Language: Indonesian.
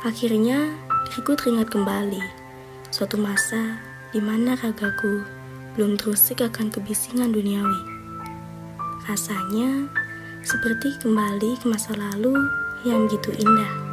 Akhirnya, diriku teringat kembali suatu masa di mana ragaku belum terusik akan kebisingan duniawi. Rasanya seperti kembali ke masa lalu yang begitu indah.